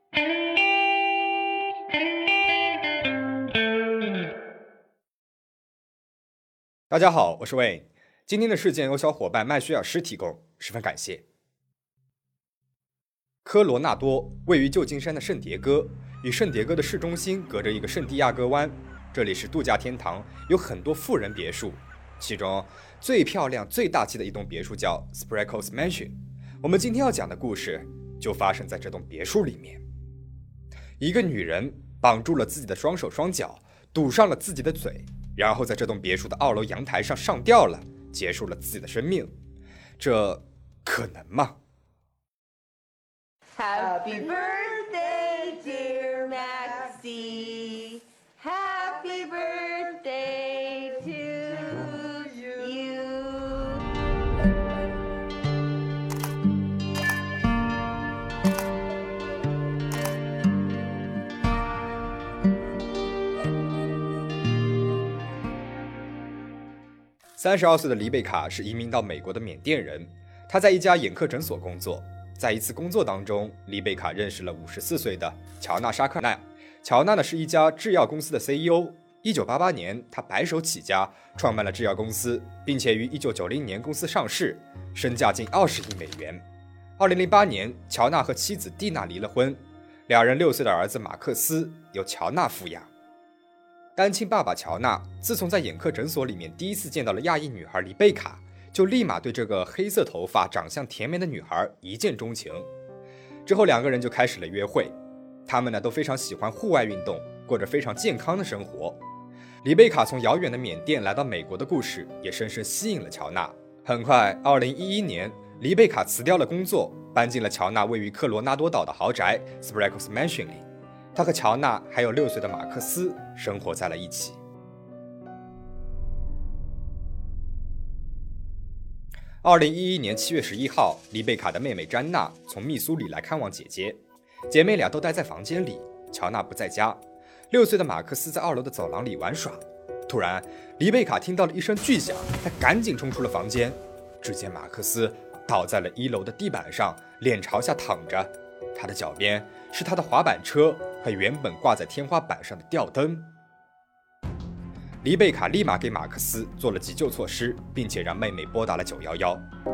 大家好，我是 Wayne。今天的事件由小伙伴麦薛尔斯提供，十分感谢。科罗纳多位于旧金山的圣迭戈，与圣迭戈的市中心隔着一个圣地亚哥湾，这里是度假天堂，有很多富人别墅，其中最漂亮、最大气的一栋别墅叫 Spreckles Mansion。我们今天要讲的故事就发生在这栋别墅里面。一个女人绑住了自己的双手双脚，堵上了自己的嘴，然后在这栋别墅的2楼阳台上上吊了，结束了自己的生命。这可能吗？ Happy birthday, dear Maxie. Happy birthday to you. 32岁的黎贝卡是移民到美国的缅甸人，她在一家眼科诊所工作。在一次工作当中，黎贝卡认识了54岁的乔纳·沙克奈。乔纳呢是一家制药公司的 CEO。1988年，他白手起家，创办了制药公司，并且于1990年公司上市，身价近20亿美元。2008年，乔纳和妻子蒂娜离了婚，两人6岁的儿子马克思由乔纳抚养。单亲爸爸乔纳自从在眼科诊所里面第一次见到了亚裔女孩黎贝卡，就立马对这个黑色头发、长相甜美的女孩一见钟情。之后两个人就开始了约会。他们呢都非常喜欢户外运动，过着非常健康的生活。黎贝卡从遥远的缅甸来到美国的故事也深深吸引了乔纳。很快，2011年，黎贝卡辞掉了工作，搬进了乔纳位于科罗纳多岛的豪宅 Spreckles Mansion 里。他和乔纳还有6岁的马克思生活在了一起。2011年7月11号，黎贝卡的妹妹詹娜从密苏里来看望姐姐，姐妹俩都待在房间里，乔纳不在家。6岁的马克思在2楼的走廊里玩耍。突然，黎贝卡听到了一声巨响，她赶紧冲出了房间。只见马克思倒在了1楼的地板上，脸朝下躺着，他的脚边是他的滑板车和原本挂在天花板上的吊灯。黎贝卡立马给马克思做了急救措施，并且让妹妹拨打了911。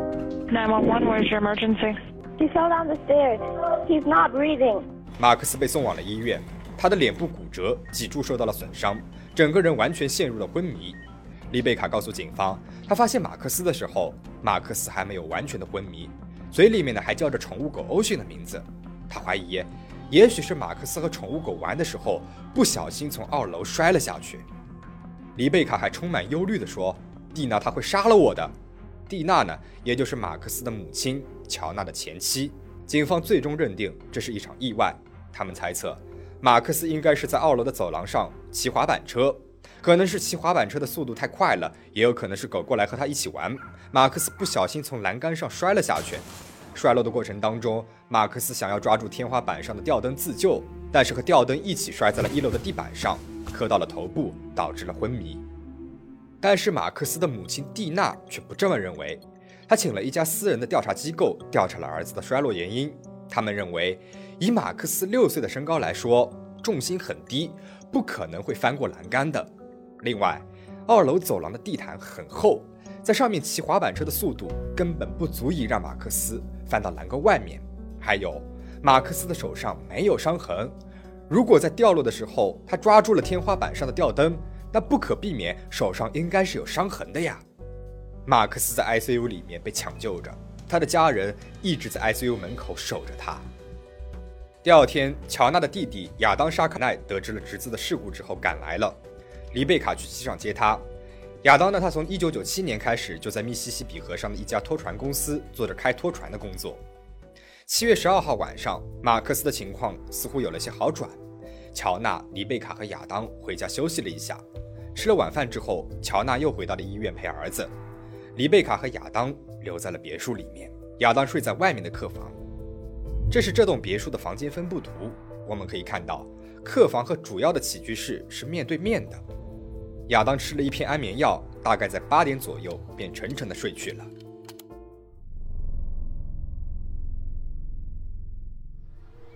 911, where's your emergency? He fell down the stairs. He's not breathing. 马克思被送往了医院，他的脸部骨折，脊柱受到了损伤，整个人完全陷入了昏迷。黎贝卡告诉警方，他发现马克思的时候，马克思还没有完全的昏迷，嘴里面呢还叫着宠物狗欧迅的名字。他怀疑，也许是马克思和宠物狗玩的时候，不小心从2楼摔了下去。黎贝卡还充满忧虑地说：“蒂娜她会杀了我的。”蒂娜呢，也就是马克思的母亲，乔纳的前妻。警方最终认定这是一场意外。他们猜测，马克思应该是在2楼的走廊上骑滑板车，可能是骑滑板车的速度太快了，也有可能是狗过来和他一起玩。马克思不小心从栏杆上摔了下去。摔落的过程当中，马克思想要抓住天花板上的吊灯自救，但是和吊灯一起摔在了1楼的地板上，磕到了头部，导致了昏迷。但是马克思的母亲蒂娜却不这么认为，她请了一家私人的调查机构调查了儿子的摔落原因。他们认为，以马克思6岁的身高来说，重心很低，不可能会翻过栏杆的。另外，2楼走廊的地毯很厚，在上面骑滑板车的速度根本不足以让马克思翻到栏杆外面。还有，马克思的手上没有伤痕，如果在掉落的时候他抓住了天花板上的吊灯，那不可避免手上应该是有伤痕的呀。马克思在 ICU 里面被抢救着，他的家人一直在 ICU 门口守着他。第2天，乔纳的弟弟亚当·沙克奈得知了侄子的事故之后赶来了，黎贝卡去机场接他。亚当呢，他从1997年开始就在密西西比河上的一家拖船公司做着开拖船的工作。7月12号晚上，马克思的情况似乎有了些好转。乔纳、黎贝卡和亚当回家休息了一下，吃了晚饭之后，乔纳又回到了医院陪儿子。黎贝卡和亚当留在了别墅里面，亚当睡在外面的客房。这是这栋别墅的房间分布图，我们可以看到，客房和主要的起居室是面对面的。亚当吃了一片安眠药，大概在8点左右便沉沉地睡去了。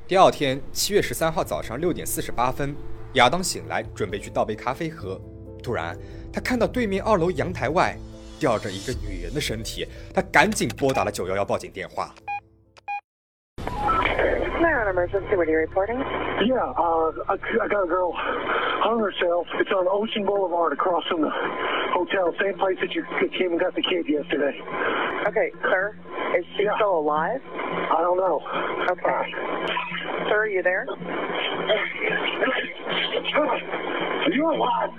第二天7月13号早上6点48分，亚当醒来，准备去倒杯咖啡喝。突然，他看到对面2楼阳台外吊着一个女人的身体，他赶紧拨打了911报警电话。 Emergency, what are you reporting? Yeah, I got a girl hung herself. It's on Ocean Boulevard across from the hotel, same place that you came and got the kid yesterday. Okay, sir, is she still alive? I don't know. Okay. Sir, are you there? Are you alive?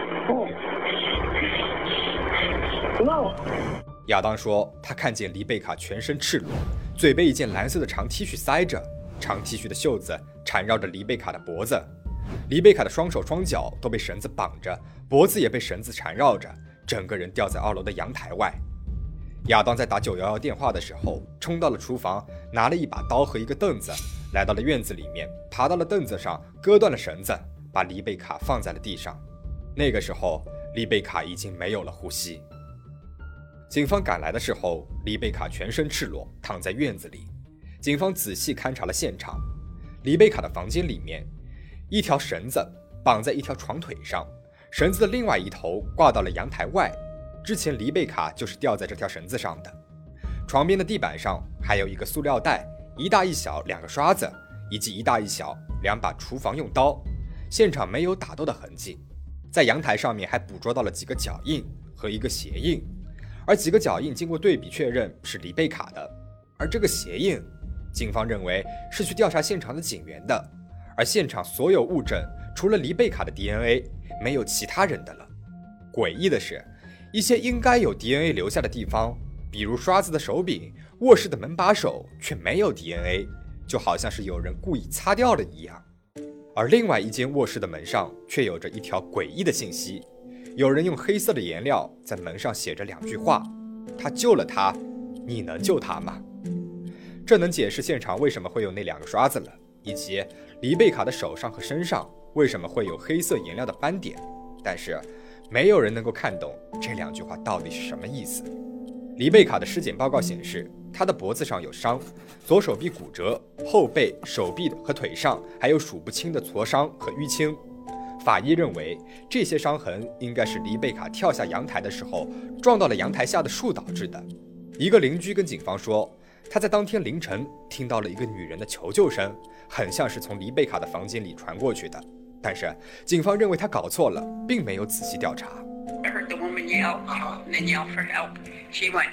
Hello? 亚当说，他看见丽贝卡全身赤裸，嘴被一件蓝色的长 T 恤塞着，长 T 恤的袖子缠绕着丽贝卡的脖子，丽贝卡的双手双脚都被绳子绑着，脖子也被绳子缠绕着，整个人吊在2楼的阳台外。亚当在打911电话的时候，冲到了厨房，拿了一把刀和一个凳子，来到了院子里面，爬到了凳子上，割断了绳子，把丽贝卡放在了地上。那个时候，丽贝卡已经没有了呼吸。警方赶来的时候，丽贝卡全身赤裸，躺在院子里。警方仔细勘察了现场，丽贝卡的房间里面，一条绳子绑在一条床腿上，绳子的另外一头挂到了阳台外。之前丽贝卡就是吊在这条绳子上的。床边的地板上还有一个塑料袋，一大一小2个刷子，以及一大一小2把厨房用刀。现场没有打斗的痕迹。在阳台上面还捕捉到了几个脚印和一个鞋印。而几个脚印经过对比确认是丽贝卡的，而这个鞋印，警方认为是去调查现场的警员的，而现场所有物证除了丽贝卡的 DNA， 没有其他人的了。诡异的是，一些应该有 DNA 留下的地方，比如刷子的手柄、卧室的门把手，却没有 DNA， 就好像是有人故意擦掉了一样。而另外一间卧室的门上却有着一条诡异的信息。有人用黑色的颜料在门上写着2句话：他救了他，你能救他吗？这能解释现场为什么会有那2个刷子了，以及丽贝卡的手上和身上为什么会有黑色颜料的斑点。但是没有人能够看懂这2句话到底是什么意思。丽贝卡的尸检报告显示，她的脖子上有伤，左手臂骨折，后背、手臂和腿上还有数不清的挫伤和淤青。法医认为，这些伤痕应该是丽贝卡跳下阳台的时候撞到了阳台下的树导致的。一个邻居跟警方说，他在当天凌晨听到了一个女人的求救声，很像是从丽贝卡的房间里传过去的。但是警方认为他搞错了，并没有仔细调查。 I heard the woman yell, and then yell for help. She went,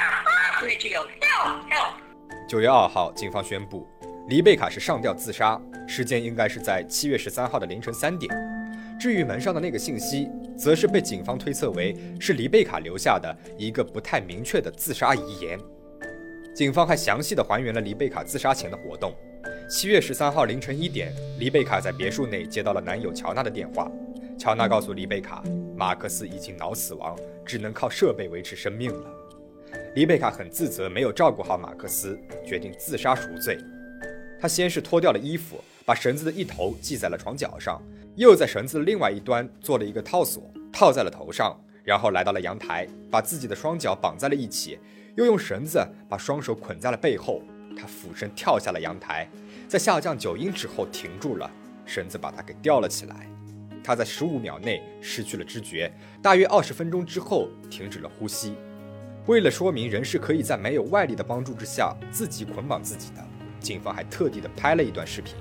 ah! And she yelled, help, help. 9月2号，警方宣布，丽贝卡是上吊自杀，时间应该是在7月13号的凌晨3点。至于门上的那个信息，则是被警方推测为是丽贝卡留下的一个不太明确的自杀遗言。警方还详细地还原了丽贝卡自杀前的活动。7月13号凌晨1点，丽贝卡在别墅内接到了男友乔纳的电话。乔纳告诉丽贝卡，马克思已经脑死亡，只能靠设备维持生命了。丽贝卡很自责没有照顾好马克思，决定自杀赎罪。她先是脱掉了衣服，把绳子的一头系在了床脚上，又在绳子的另外一端做了一个套索，套在了头上，然后来到了阳台，把自己的双脚绑在了一起，又用绳子把双手捆在了背后。他俯身跳下了阳台，在下降9英尺后停住了，绳子把他给吊了起来。他在15秒内失去了知觉，大约20分钟之后停止了呼吸。为了说明人是可以在没有外力的帮助之下自己捆绑自己的，警方还特地的拍了一段视频。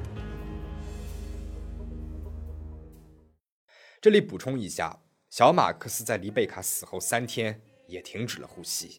这里补充一下，小马克思在丽贝卡死后3天也停止了呼吸。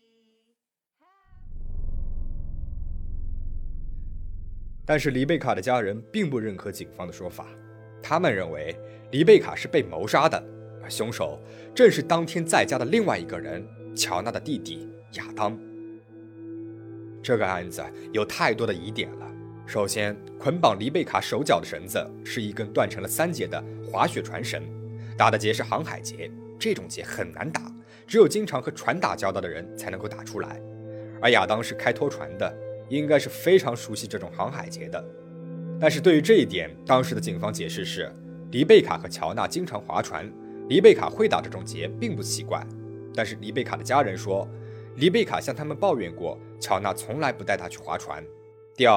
但是丽贝卡的家人并不认可警方的说法，他们认为丽贝卡是被谋杀的，而凶手正是当天在家的另外一个人，乔纳的弟弟亚当。这个案子有太多的疑点了。首先，捆绑丽贝卡手脚的绳子是一根断成了3节的滑雪船绳，打的结是航海结，这种结很难打，只有经常和船打交道的人才能够打出来。而亚当是开拖船的，应该是非常熟悉这种航海结的。但是对于这一点，当时的警方解释是，丽贝卡和乔纳经常划船，丽贝卡会打这种结并不奇怪。但是丽贝卡的家人说，丽贝卡向他们抱怨过，乔纳从来不带她去划船。第二，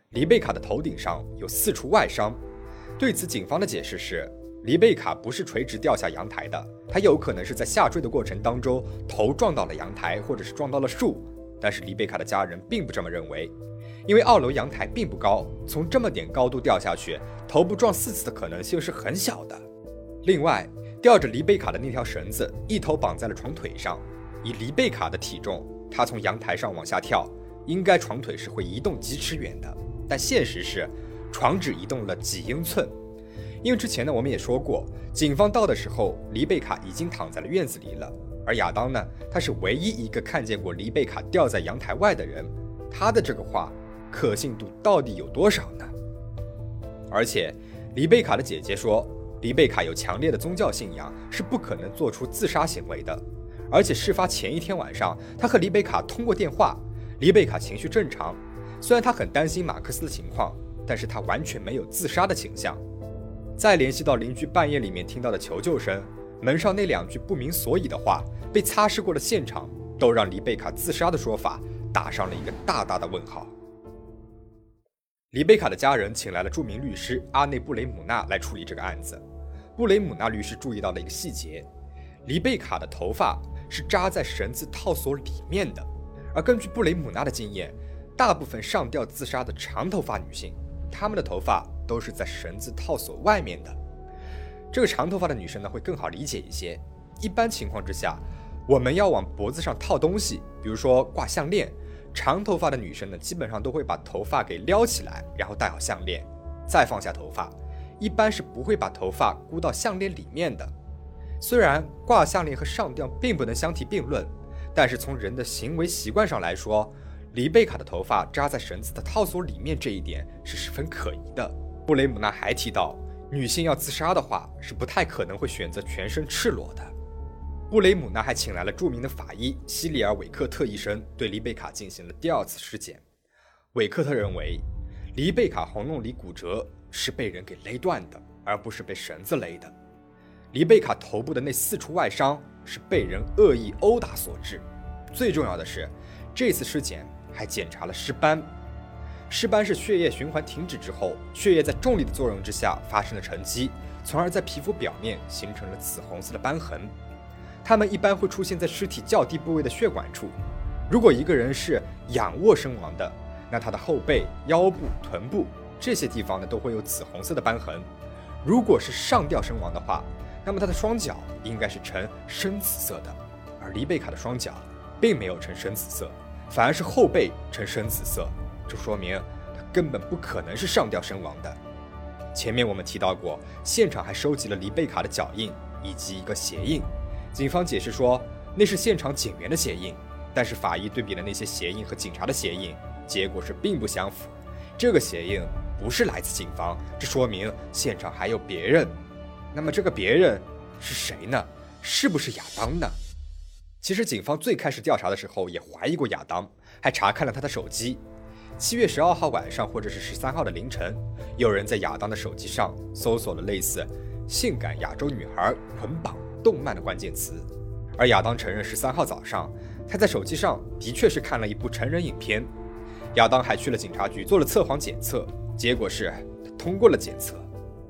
黎贝卡的头顶上有4处外伤。对此，警方的解释是，黎贝卡不是垂直掉下阳台的，她有可能是在下坠的过程当中头撞到了阳台，或者是撞到了树。但是黎贝卡的家人并不这么认为，因为2楼阳台并不高，从这么点高度掉下去，头部撞4次的可能性是很小的。另外，吊着黎贝卡的那条绳子一头绑在了床腿上，以黎贝卡的体重，她从阳台上往下跳，应该床腿是会移动几尺远的，但现实是床只移动了几英寸。因为之前呢，我们也说过，警方到的时候，黎贝卡已经躺在了院子里了。而亚当呢，他是唯一一个看见过黎贝卡吊在阳台外的人，他的这个话可信度到底有多少呢？而且，黎贝卡的姐姐说，黎贝卡有强烈的宗教信仰，是不可能做出自杀行为的。而且事发前一天晚上，他和黎贝卡通过电话，黎贝卡情绪正常，虽然他很担心马克思的情况，但是他完全没有自杀的倾向。再联系到邻居半夜里面听到的求救声，门上那2句不明所以的话，被擦拭过的现场，都让黎贝卡自杀的说法打上了一个大大的问号。黎贝卡的家人请来了著名律师阿内布雷姆纳来处理这个案子。布雷姆纳律师注意到了一个细节，黎贝卡的头发是扎在绳子套索里面的，而根据布雷姆纳的经验，大部分上吊自杀的长头发女性，她们的头发都是在绳子套索外面的。这个长头发的女生呢，会更好理解一些。一般情况之下，我们要往脖子上套东西，比如说挂项链，长头发的女生呢，基本上都会把头发给撩起来，然后戴好项链，再放下头发，一般是不会把头发箍到项链里面的。虽然挂项链和上吊并不能相提并论，但是从人的行为习惯上来说，黎贝卡的头发扎在绳子的套索里面这一点是十分可疑的。布雷姆纳还提到，女性要自杀的话，是不太可能会选择全身赤裸的。布雷姆纳还请来了著名的法医西里尔·韦克特医生，对黎贝卡进行了第2次尸检。韦克特认为，黎贝卡喉咙里骨折是被人给勒断的，而不是被绳子勒的。黎贝卡头部的那4处外伤是被人恶意殴打所致。最重要的是，这次尸检还检查了尸斑。尸斑是血液循环停止之后，血液在重力的作用之下发生了沉积，从而在皮肤表面形成了紫红色的斑痕。它们一般会出现在尸体较低部位的血管处。如果一个人是仰卧身亡的，那他的后背、腰部、臀部这些地方呢，都会有紫红色的斑痕。如果是上吊身亡的话，那么他的双脚应该是呈深紫色的，而黎贝卡的双脚并没有呈深紫色，反而是后背呈深紫色，这说明他根本不可能是上吊身亡的。前面我们提到过，现场还收集了黎贝卡的脚印以及一个鞋印，警方解释说那是现场警员的鞋印，但是法医对比了那些鞋印和警察的鞋印，结果是并不相符，这个鞋印不是来自警方，这说明现场还有别人。那么这个别人是谁呢？是不是亚当呢？其实警方最开始调查的时候也怀疑过亚当，还查看了他的手机。7月12号晚上或者是13号的凌晨，有人在亚当的手机上搜索了类似性感亚洲女孩、捆绑、动漫的关键词，而亚当承认13号早上他在手机上的确是看了一部成人影片。亚当还去了警察局做了测谎检测，结果是他通过了检测。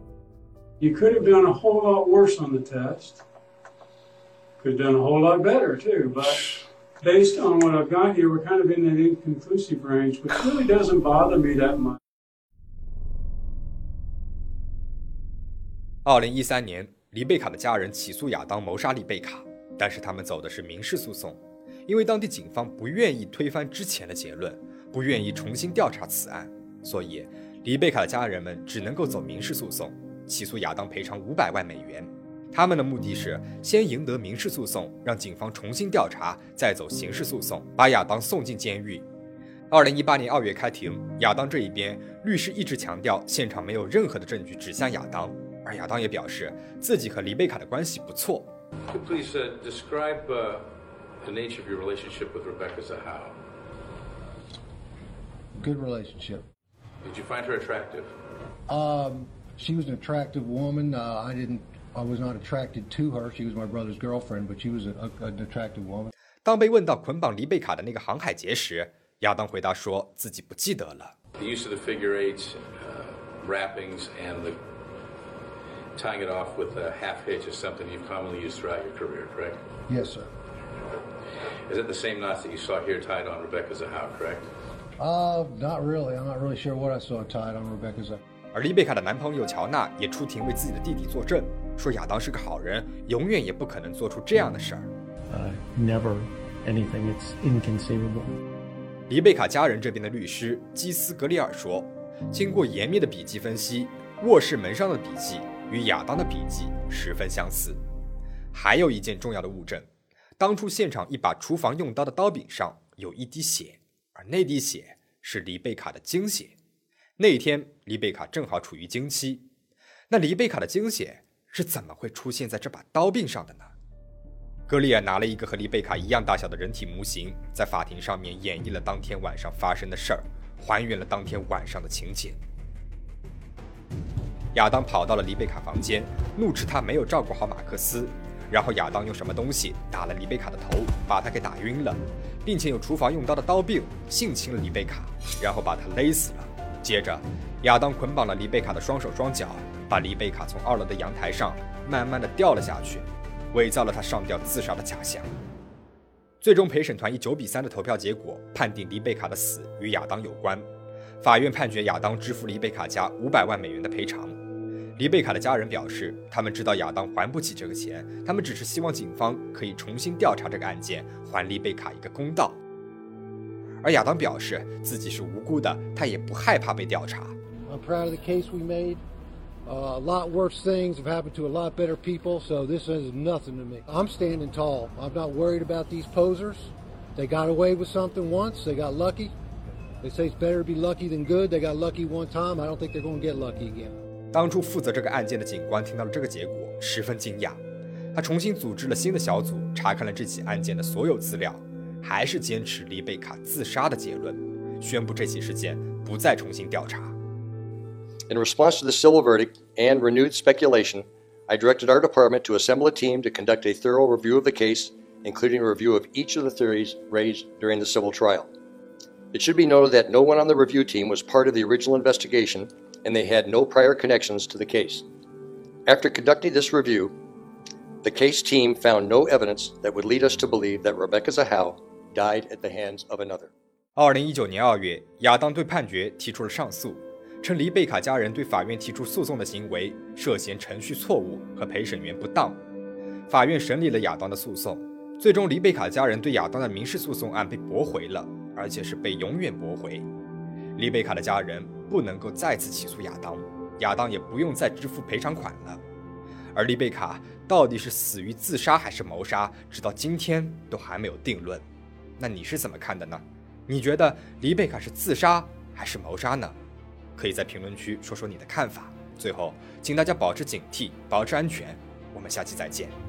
You could have done a whole lot worse on the test. Could have done a whole lot better too, but based on what I've got here, we're kind of in that inconclusive range, which really doesn't bother me that much. 2013年，黎贝卡的家人起诉亚当谋杀黎贝卡，但是他们走的是民事诉讼，因为当地警方不愿意推翻之前的结论，不愿意重新调查此案，所以黎贝卡的家人们只能够走民事诉讼，起诉亚当赔偿500万美元。他们的目的是先赢得民事诉讼，让警方重新调查，再走刑事诉讼，把亚当送进监狱。2018年2月开庭，亚当这一边律师一直强调现场没有任何的证据指向亚当，而亚当也表示自己和黎贝卡的关系不错。 Please describe the nature of your relationship with Rebecca Zahau. Good relationship. Did you find her attractive? She was an attractive woman. I was not attracted to her. She was my brother's girlfriend, but she was an attractive woman. 当被问到捆绑黎贝卡的那个航海节时，亚当回答说自己不记得了。 The use of the figure eights, wrappings, and the tying it off with a half hitch is something you've commonly used throughout your career, correct? Yes, sir. Is it the same knots that you saw here tied on Rebecca Zahau, correct? Not really. I'm not really sure what I saw tied on Rebecca's. 而丽贝卡的男朋友乔纳也出庭为自己的弟弟作证，说亚当是个好人，永远也不可能做出这样的事儿。 Never anything. It's inconceivable. 黎贝卡家人这边的律师基斯格里尔说，经过严密的笔迹分析，卧室门上的笔迹与亚当的笔迹十分相似。还有一件重要的物证，当初现场一把厨房用刀的刀柄上有一滴血，而那滴血是黎贝卡的经血。那一天，黎贝卡正好处于经期，那黎贝卡的经血是怎么会出现在这把刀柄上的呢？格里尔拿了一个和黎贝卡一样大小的人体模型，在法庭上面演绎了当天晚上发生的事儿，还原了当天晚上的情节。亚当跑到了黎贝卡房间，怒斥他没有照顾好马克思，然后亚当用什么东西打了黎贝卡的头，把他给打晕了，并且用厨房用刀的刀柄性侵了黎贝卡，然后把他勒死了。接着，亚当捆绑了黎贝卡的双手双脚，把黎贝卡从2楼的阳台上慢慢的掉了下去，伪造了他上吊自杀的假象。最终陪审团以9-3的投票结果判定黎贝卡的死与亚当有关，法院判决亚当支付黎贝卡家500万美元的赔偿。黎贝卡的家人表示，他们知道亚当还不起这个钱，他们只是希望警方可以重新调查这个案件，还黎贝卡一个公道。而亚当表示自己是无辜的，他也不害怕被调查。 I'm proud of the case we made. A lot worse things have happened to a lot better people, so this is nothing to me. I'm standing tall. I'm not worried about these posers. They got away with something once. They got lucky. They say it's better to be lucky than good. They got lucky one time. I don't think they're going to get lucky again. 当初负责这个案件的警官听到了这个结果，十分惊讶。他重新组织了新的小组，查看了这起案件的所有资料，还是坚持黎贝卡自杀的结论，宣布这起事件不再重新调查。 In response to the civil verdict and renewed speculation, I directed our department to assemble a team to conduct a thorough review of the case, including a review of each of the theories raised during the civil trial. It should be noted that no one on the review team was part of the original investigation, and they had no prior connections to the case. After conducting this review, the case team found no evidence that would lead us to believe that Rebecca Zahau died at the hands of another. 2019年2月，亚当对判决提出了上诉，称黎贝卡家人对法院提出诉讼的行为涉嫌程序错误和陪审员不当。法院审理了亚当的诉讼，最终黎贝卡家人对亚当的民事诉讼案被驳回了，而且是被永远驳回。黎贝卡的家人不能够再次起诉亚当，亚当也不用再支付赔偿款了。而黎贝卡到底是死于自杀还是谋杀，直到今天都还没有定论。那你是怎么看的呢？你觉得黎贝卡是自杀还是谋杀呢？可以在评论区说说你的看法。最后，请大家保持警惕，保持安全。我们下期再见。